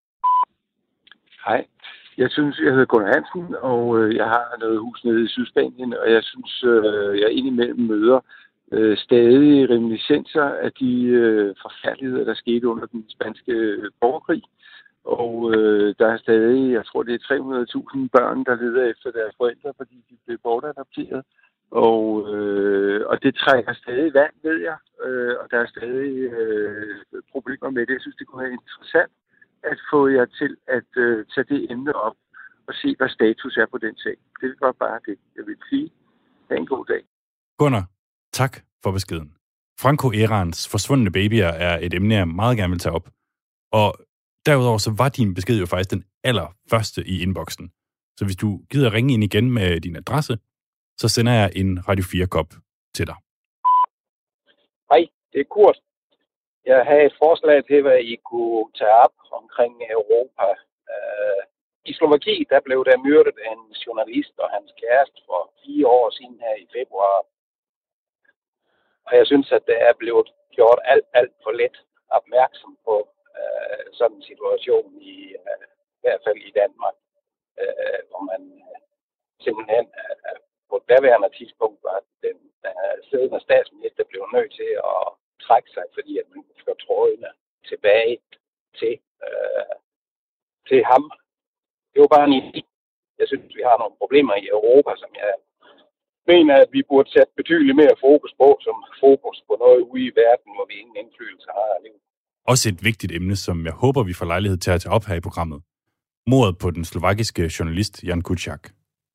Hej. Jeg synes, jeg hedder Gunnar Hansen, og øh, jeg har noget hus nede i Sydspanien, og jeg synes, øh, jeg indimellem møder øh, stadig reminiscenser af de øh, forfærdeligheder, der skete under den spanske borgerkrig. Og øh, der er stadig, jeg tror, det er tre hundrede tusind børn, der leder efter deres forældre, fordi de blev bortadopteret. Og, øh, og det trækker stadig vand, ved jeg, øh, og der er stadig øh, problemer med det. Jeg synes, det kunne være interessant at få jer til at øh, tage det emne op og se, hvad status er på den sag. Det var bare det, jeg vil sige. Ha' en god dag. Gunnar, tak for beskeden. Franco Erans forsvundne babyer er et emne, jeg meget gerne vil tage op. Og derudover så var din besked jo faktisk den allerførste i inboxen. Så hvis du gider ringe ind igen med din adresse, så sender jeg en Radio fire-kop til dig. Hej, det er Kurt. Jeg havde et forslag til, hvad I kunne tage op omkring Europa. Uh, I Slovakiet, der blev der myrdet en journalist og hans kæreste for fire år siden her i februar. Og jeg synes, at det er blevet gjort alt, alt for lidt opmærksom på uh, sådan en situation, i, uh, i hvert fald i Danmark, uh, hvor man uh, simpelthen uh, på et daværende tidspunkt var den uh, siddende statsminister blev nødt til at trække sig, fordi at man kunne få trådene tilbage til, øh, til ham. Det var bare en idé. Jeg synes, vi har nogle problemer i Europa, som jeg mener, at vi burde sætte betydeligt mere fokus på, som fokus på noget ude i verden, hvor vi ingen indflydelse har alene. Også et vigtigt emne, som jeg håber, vi får lejlighed til at tage op her i programmet. Mordet på den slovakiske journalist Jan Kuciak.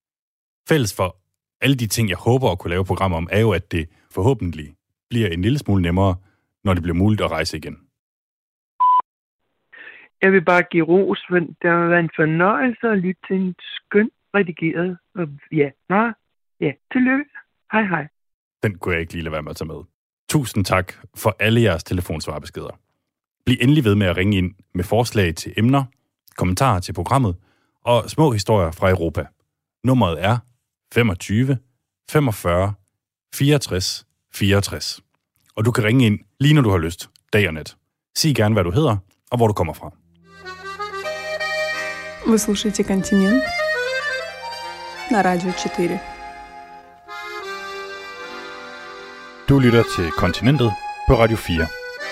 Fælles for alle de ting, jeg håber at kunne lave programmer om, er jo, at det forhåbentlig bliver en lille smule nemmere, når det bliver muligt at rejse igen. Jeg vil bare give ros, for det har været en fornøjelse at lytte til en skøn redigeret. Og ja, nå, ja, tillykke. Hej, hej. Den kunne jeg ikke lige lade være med at tage med. Tusind tak for alle jeres telefonsvarbeskeder. Bliv endelig ved med at ringe ind med forslag til emner, kommentarer til programmet og små historier fra Europa. Nummeret er femogtyve femogfyrre fireogtres fireogtres. Og du kan ringe ind lige når du har lyst, dag og nat. Sig gerne, hvad du hedder og hvor du kommer fra. Вы слушаете «Континент» на Радио четыре. Du lytter til Kontinentet på Radio fire.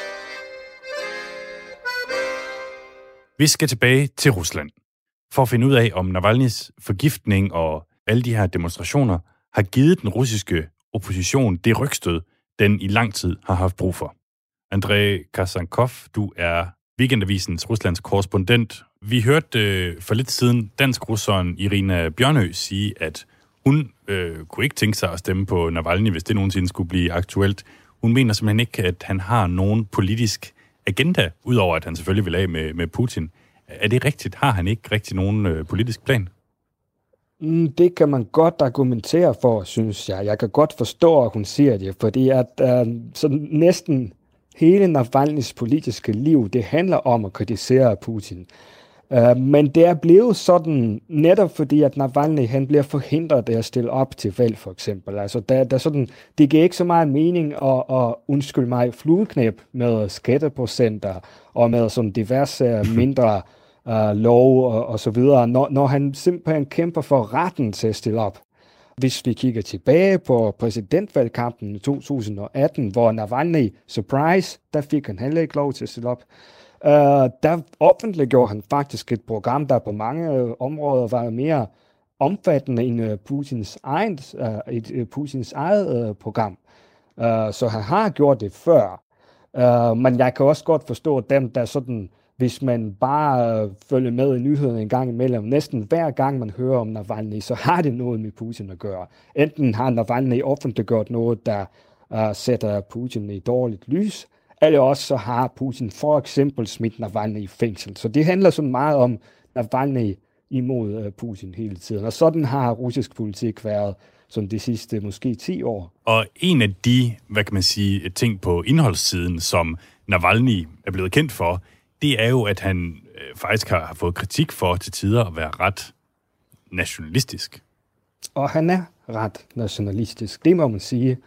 Vi skal tilbage til Rusland for at finde ud af, om Navalnyjs forgiftning og alle de her demonstrationer har givet den russiske opposition det rygstød, den i lang tid har haft brug for. Andrei Kasankov, du er Weekendavisens Ruslands korrespondent. Vi hørte øh, for lidt siden dansk-russeren Irina Bjørnø sige, at hun øh, kunne ikke tænke sig at stemme på Navalny, hvis det nogensinde skulle blive aktuelt. Hun mener simpelthen ikke, at han har nogen politisk agenda, udover at han selvfølgelig vil af med, med Putin. Er det rigtigt? Har han ikke rigtig nogen øh, politisk plan? Det kan man godt argumentere for, synes jeg. Jeg kan godt forstå, at hun siger det, fordi at øh, sådan næsten hele Navalnys politiske liv, det handler om at kritisere Putin. Uh, men det er blevet sådan, netop fordi, at Navalny, han bliver forhindret af at stille op til valg, for eksempel. Altså, der, der sådan, det giver ikke så meget mening at, at undskylde mig, flueknæb med skatteprocenter og med sådan diverse mindre uh, lov og, og så videre, når, når han simpelthen kæmper for retten til at stille op. Hvis vi kigger tilbage på præsidentvalgkampen i to tusind og atten, hvor Navalny, surprise, der fik han heller ikke lov til at stille op. Uh, der offentliggjorde han faktisk et program, der på mange uh, områder var mere omfattende end uh, Putins, egen, uh, et, uh, Putins eget uh, program. Uh, så han har gjort det før. Uh, men jeg kan også godt forstå dem, der sådan, hvis man bare uh, følger med i nyhederne en gang imellem, næsten hver gang man hører om Navalny, så har det noget med Putin at gøre. Enten har Navalny offentliggjort noget, der uh, sætter Putin i dårligt lys, eller også så har Putin for eksempel smidt Navalny i fængsel. Så det handler så meget om Navalny imod Putin hele tiden. Og sådan har russisk politik været som de sidste måske ti år. Og en af de, hvad kan man sige, ting på indholdssiden, som Navalny er blevet kendt for, det er jo, at han øh, faktisk har, har fået kritik for til tider at være ret nationalistisk. Og han er ret nationalistisk, det må man sige.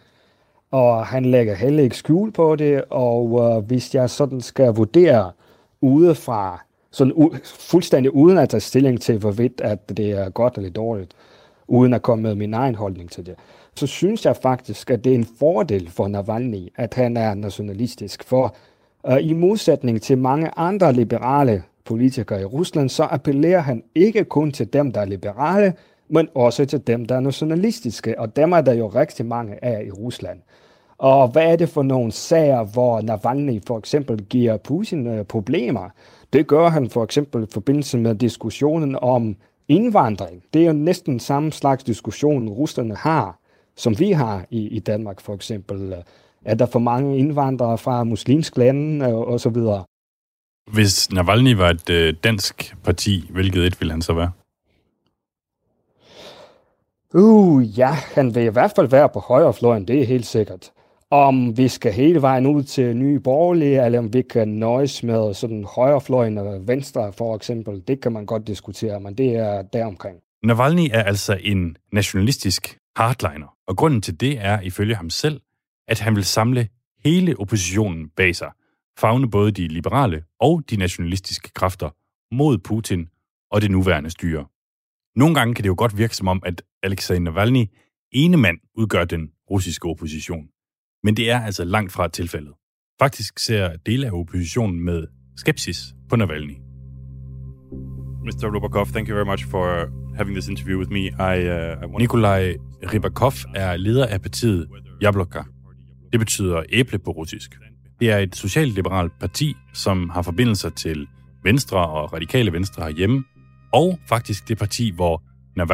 Og han lægger heller ikke skjul på det, og øh, hvis jeg sådan skal vurdere udefra, sådan u- fuldstændig uden at tage stilling til, hvorvidt at det er godt eller dårligt, uden at komme med min egen holdning til det, så synes jeg faktisk, at det er en fordel for Navalny, at han er nationalistisk. For øh, i modsætning til mange andre liberale politikere i Rusland, så appellerer han ikke kun til dem, der er liberale, men også til dem, der er nationalistiske, og dem er der jo rigtig mange af i Rusland. Og hvad er det for nogle sager, hvor Navalny for eksempel giver Putin øh, problemer? Det gør han for eksempel i forbindelse med diskussionen om indvandring. Det er jo næsten samme slags diskussion, russerne har, som vi har i, i Danmark for eksempel. Er der for mange indvandrere fra muslimsk lande øh, og så videre? Hvis Navalny var et øh, dansk parti, hvilket et ville han så være? Uh, ja, han vil i hvert fald være på højrefløjen, det er helt sikkert. Om vi skal hele vejen ud til Nye Borgerlige, eller om vi kan nøjes med sådan højrefløjen og venstre for eksempel, det kan man godt diskutere, men det er deromkring. Navalny er altså en nationalistisk hardliner, og grunden til det er ifølge ham selv, at han vil samle hele oppositionen bag sig, favne både de liberale og de nationalistiske kræfter mod Putin og det nuværende styre. Nogle gange kan det jo godt virke som om, at Alexei Navalny ene mand udgør den russiske opposition. Men det er altså langt fra tilfældet. Faktisk ser dele af oppositionen med skepsis på Navalny. mister Rybakov, thank you very much for having this interview with me. I, uh, I want... Nikolaj Rybakov er leder af partiet Jabloko. Det betyder æble på russisk. Det er et socialliberalt parti, som har forbindelser til Venstre og radikale Venstre herhjemme, og faktisk det parti, hvor Navalny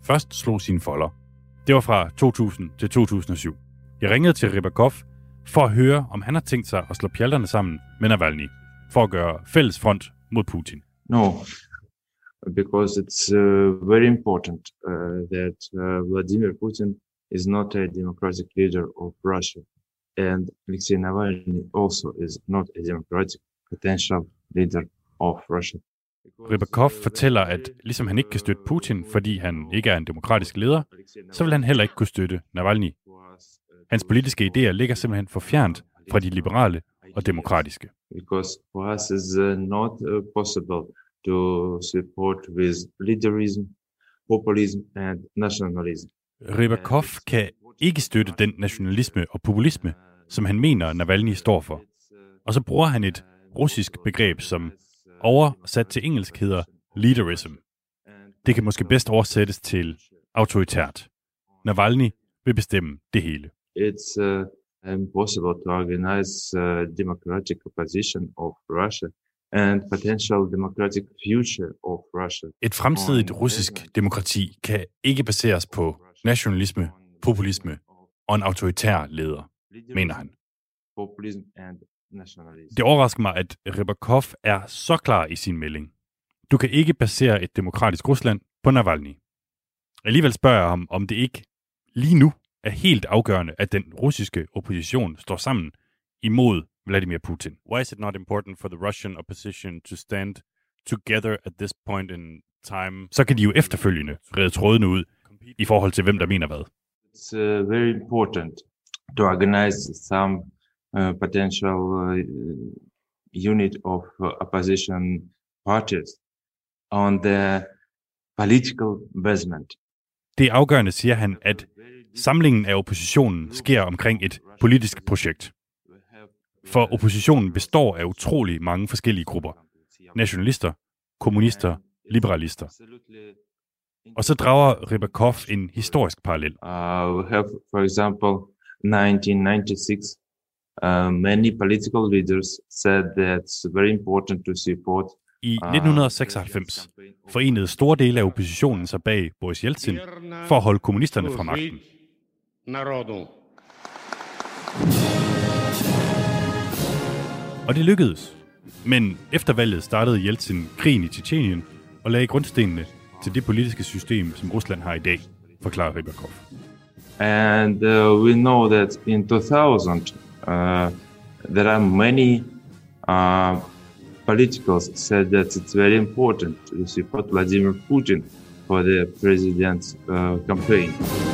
først slog sine folder. Det var fra to tusind til to tusind og syv. Jeg ringede til Rybakov for at høre, om han har tænkt sig at slå pjalterne sammen med Navalny for at gøre fælles front mod Putin. No, because it's uh, very important uh, that uh, Vladimir Putin is not a democratic leader of Russia, and Alexei Navalny also is not a democratic potential leader of Russia. Rybakov fortæller, at ligesom han ikke kan støtte Putin, fordi han ikke er en demokratisk leder, så vil han heller ikke kunne støtte Navalny. Hans politiske idéer ligger simpelthen for fjernt fra de liberale og demokratiske. Because for us it's uh, not uh, possible to support with leaderism, populism and nationalism. Rybakov kan ikke støtte den nationalisme og populisme, som han mener, Navalny står for. Og så bruger han et russisk begreb, som oversat til engelsk hedder leaderism. Det kan måske bedst oversættes til autoritært. Navalny vil bestemme det hele. It's uh, impossible to organize uh, democratic opposition of Russia and potential democratic future of Russia. Et fremtidigt russisk demokrati kan ikke baseres på nationalisme, populisme og en autoritær leder, mener han. Det overrasker mig, at Rybakov er så klar i sin melding. Du kan ikke basere et demokratisk Rusland på Navalny. Alligevel spørger jeg ham, om det ikke lige nu er helt afgørende, at den russiske opposition står sammen imod Vladimir Putin. Why is it not important for the Russian opposition to stand together at this point in time? Så kan de jo efterfølgende redde trådene ud i forhold til, hvem der mener hvad. It's uh, very important to organize some uh, potential uh, unit of uh, opposition parties on the political basement. Det er afgørende, siger han, at samlingen af oppositionen sker omkring et politisk projekt. For oppositionen består af utrolig mange forskellige grupper. Nationalister, kommunister, liberalister. Og så drager Rybakov en historisk parallel. Uh, we have, for example, nineteen ninety-six. Uh, many political leaders said that it's very important to support. I nitten seksoghalvfems forenede store dele af oppositionen sig bag Boris Jeltsin for at holde kommunisterne fra magten. Og det lykkedes. Men efter valget startede Jeltsin krigen i Tjetjenien og lagde grundstenene til det politiske system, som Rusland har i dag, forklarer Rybakov. And uh, we know that in two thousand uh, there are many uh, politicals said that it's very important to support Vladimir Putin for the president's uh, campaign.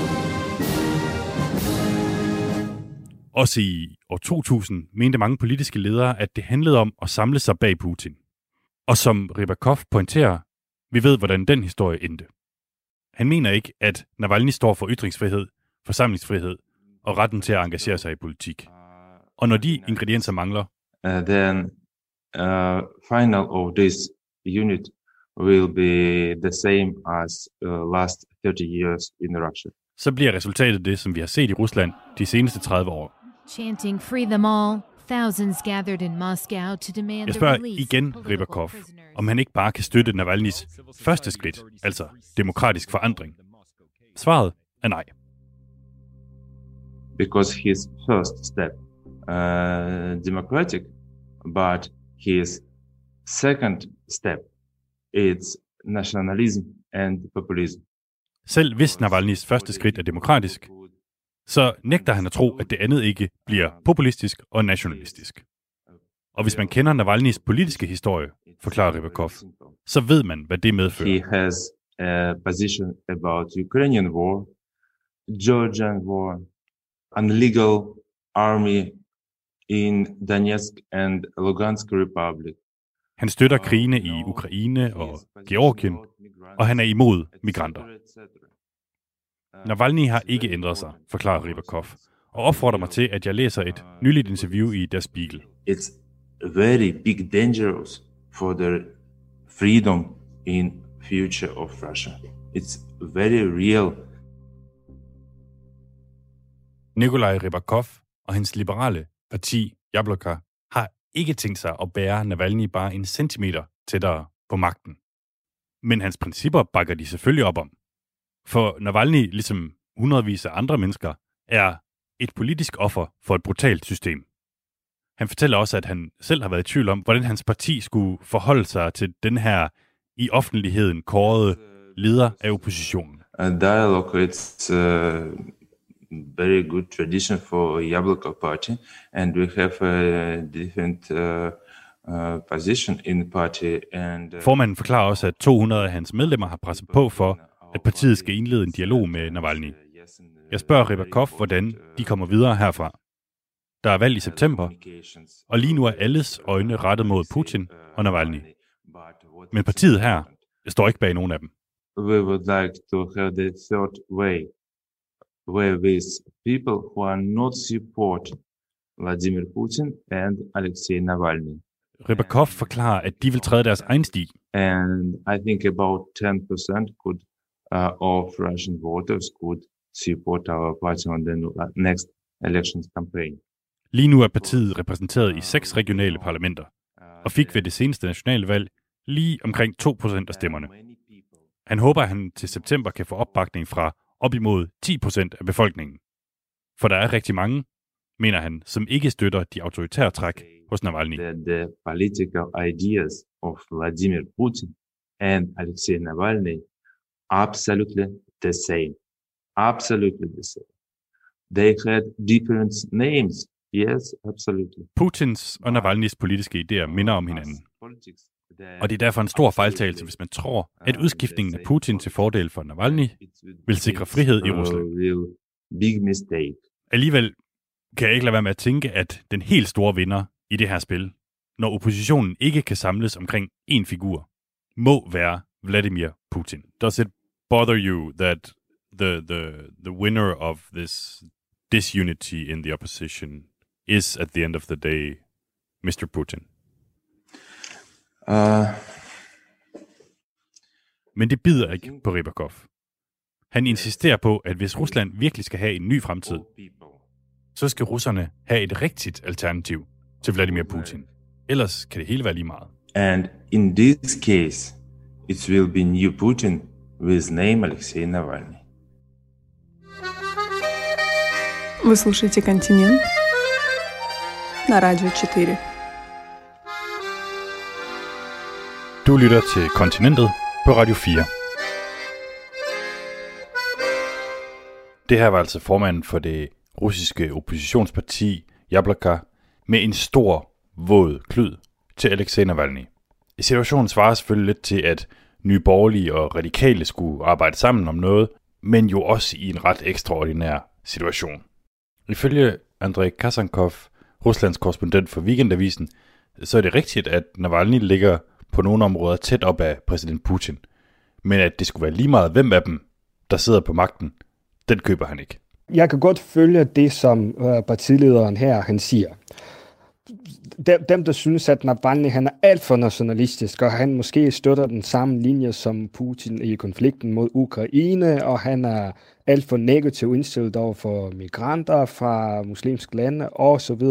Også i år to tusind mente mange politiske ledere, at det handlede om at samle sig bag Putin. Og som Rybakov pointerer, vi ved, hvordan den historie endte. Han mener ikke, at Navalny står for ytringsfrihed, forsamlingsfrihed og retten til at engagere sig i politik. Og når de ingredienser mangler, uh, then uh, final of this unit will be the same as uh, last thirty years in Russia. Så bliver resultatet det, som vi har set i Rusland de seneste tredive år. Chanting free them all, thousands gathered in Moscow to demand Jeg the spørger release igen Rybakov, om han ikke bare kan støtte Navalnys første skridt, altså demokratisk forandring. Svaret er nej. Because his first step, uh, democratic, but his second step, it's nationalism and populism. Selv hvis Navalnys første skridt er demokratisk, så nægter han at tro, at det andet ikke bliver populistisk og nationalistisk. Og hvis man kender Navalnys politiske historie, forklarer Rybakov, så ved man, hvad det medfører. He has a position about Ukrainian war, Georgian war, an illegal army in Donetsk and Lugansk Republic. Han støtter krigene i Ukraine og Georgien, og han er imod migranter. Navalny har ikke ændret sig, forklarer Rybakov, og opfordrer mig til, at jeg læser et nyligt interview i Der Spiegel. It's very big dangerous for the freedom in future of Russia. It's very real. Nikolaj Rybakov og hans liberale parti, Jabloko, har ikke tænkt sig at bære Navalny bare en centimeter tættere på magten. Men hans principper bakker de selvfølgelig op om. For Navalny, ligesom hundredvis af andre mennesker, er et politisk offer for et brutalt system. Han fortæller også, at han selv har været i tvivl om, hvordan hans parti skulle forholde sig til den her i offentligheden kårede leder af oppositionen. A dialogue, it's a very good tradition for Yabloko Party, and we have a different uh, uh, position in the party. And uh, Formanden forklarer også, at to hundrede af hans medlemmer har presset på for, at partiet skal indlede en dialog med Navalny. Jeg spørger Rybakov, hvordan de kommer videre herfra. Der er valg i september, og lige nu er alles øjne rettet mod Putin og Navalny. Men partiet her står ikke bag nogen af dem. We would like to have the third way, where with people who are not support Vladimir Putin and Alexei Navalny. Rybakov forklarer, at de vil træde deres egen sti. And I think about ten percent could, uh, of Russian voters could support our party on the next elections campaign. Lige nu er partiet repræsenteret i seks regionale parlamenter, og fik ved det seneste nationale valg lige omkring to procent af stemmerne. Han håber, at han til september kan få opbakning fra op imod ti procent af befolkningen. For der er rigtig mange, mener han, som ikke støtter de autoritære træk hos Navalny. The political ideas of Vladimir Putin and Alexei Navalny absolutely the same. Absolutely the same. They had different names. Yes, absolutely. Putins og Navalnys politiske idéer minder om hinanden. Og det er derfor en stor fejltagelse, hvis man tror, at udskiftningen af Putin til fordel for Navalny vil sikre frihed i Rusland. Big mistake. Alligevel kan jeg ikke lade være med at tænke, at den helt store vinder i det her spil, når oppositionen ikke kan samles omkring én figur, må være Vladimir Putin. Does it bother you that the the the winner of this disunity in the opposition is at the end of the day mister Putin? Uh... Men det bider ikke på Rybakov. Han insisterer på, at hvis Rusland virkelig skal have en ny fremtid, så skal russerne have et rigtigt alternativ til Vladimir Putin. Ellers kan det hele være lige meget. And in this case, it will be new Putin with name Alexei Navalny. Вы слушаете «Континент» на Радио четыре. Du lytter til Kontinentet på Radio fire. Det her var altså formanden for det russiske oppositionsparti Yabloko med en stor, våd klud til Alexei Navalny. Situationen svarer selvfølgelig lidt til, at Nye Borgerlige og Radikale skulle arbejde sammen om noget, men jo også i en ret ekstraordinær situation. Ifølge Andrei Kasankov, Ruslands korrespondent for Weekendavisen, så er det rigtigt, at Navalny ligger på nogle områder tæt op af præsident Putin. Men at det skulle være lige meget hvem af dem, der sidder på magten, den køber han ikke. Jeg kan godt følge det, som uh, partilederen her han siger. Dem, dem, der synes, at Navalny han er alt for nationalistisk, og han måske støtter den samme linje som Putin i konflikten mod Ukraine, og han er alt for negativ indstillet over for migranter fra muslimske lande osv.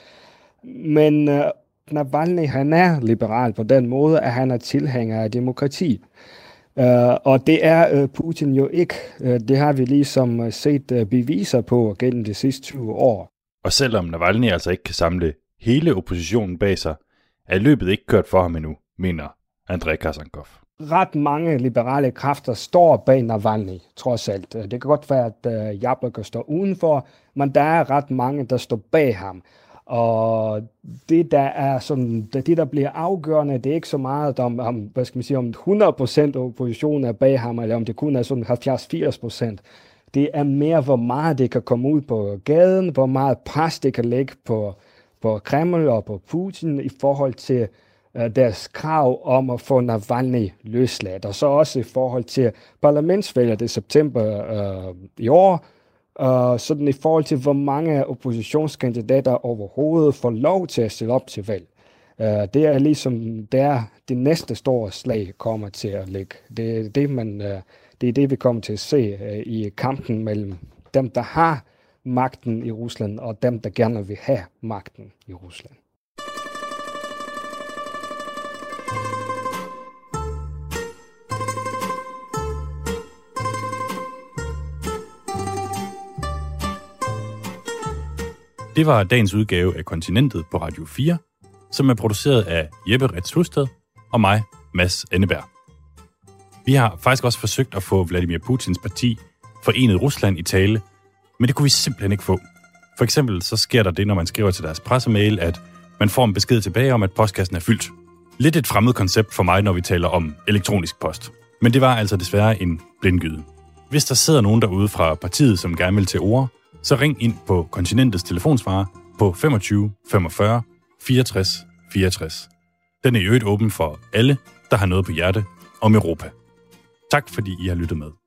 Men uh, Navalny han er liberal på den måde, at han er tilhænger af demokrati. Uh, og det er uh, Putin jo ikke. Uh, det har vi ligesom uh, set uh, beviser på gennem de sidste tyve år. Og selvom Navalny altså ikke kan samle hele oppositionen bag sig, er løbet ikke kørt for ham endnu, mener Andrei Kasankov. Ret mange liberale kræfter står bag Navalny, trods alt. Det kan godt være, at uh, Yabloko står udenfor, men der er ret mange, der står bag ham. Og det der er sådan, det der bliver afgørende, det er ikke så meget om, om hvad skal man sige, om hundrede procent af oppositionen er bag ham, eller om det kun er sådan halvfjerds til firs procent. Det er mere, hvor meget det kan komme ud på gaden, hvor meget pres det kan lægge på, på Kreml og på Putin i forhold til uh, deres krav om at få Navalny løsladt. Og så også i forhold til parlamentsvalget i september uh, i år, Uh, sådan i forhold til, hvor mange oppositionskandidater overhovedet får lov til at stille op til valg. Uh, det er ligesom, det er det næste store slag kommer til at ligge. Det er det, man, uh, det, er det vi kommer til at se uh, i kampen mellem dem, der har magten i Rusland, og dem, der gerne vil have magten i Rusland. Det var dagens udgave af Kontinentet på Radio fire, som er produceret af Jeppe Retz Husted og mig, Mads Enneberg. Vi har faktisk også forsøgt at få Vladimir Putins parti Forenet Rusland i tale, men det kunne vi simpelthen ikke få. For eksempel så sker der det, når man skriver til deres pressemail, at man får en besked tilbage om, at postkassen er fyldt. Lidt et fremmed koncept for mig, når vi taler om elektronisk post. Men det var altså desværre en blindgyde. Hvis der sidder nogen derude fra partiet, som gerne vil til ord, så ring ind på Kontinentets telefonsvarer på femogtyve femogfyrre fireogtres fireogtres. Den er i øvrigt åben for alle, der har noget på hjerte om Europa. Tak fordi I har lyttet med.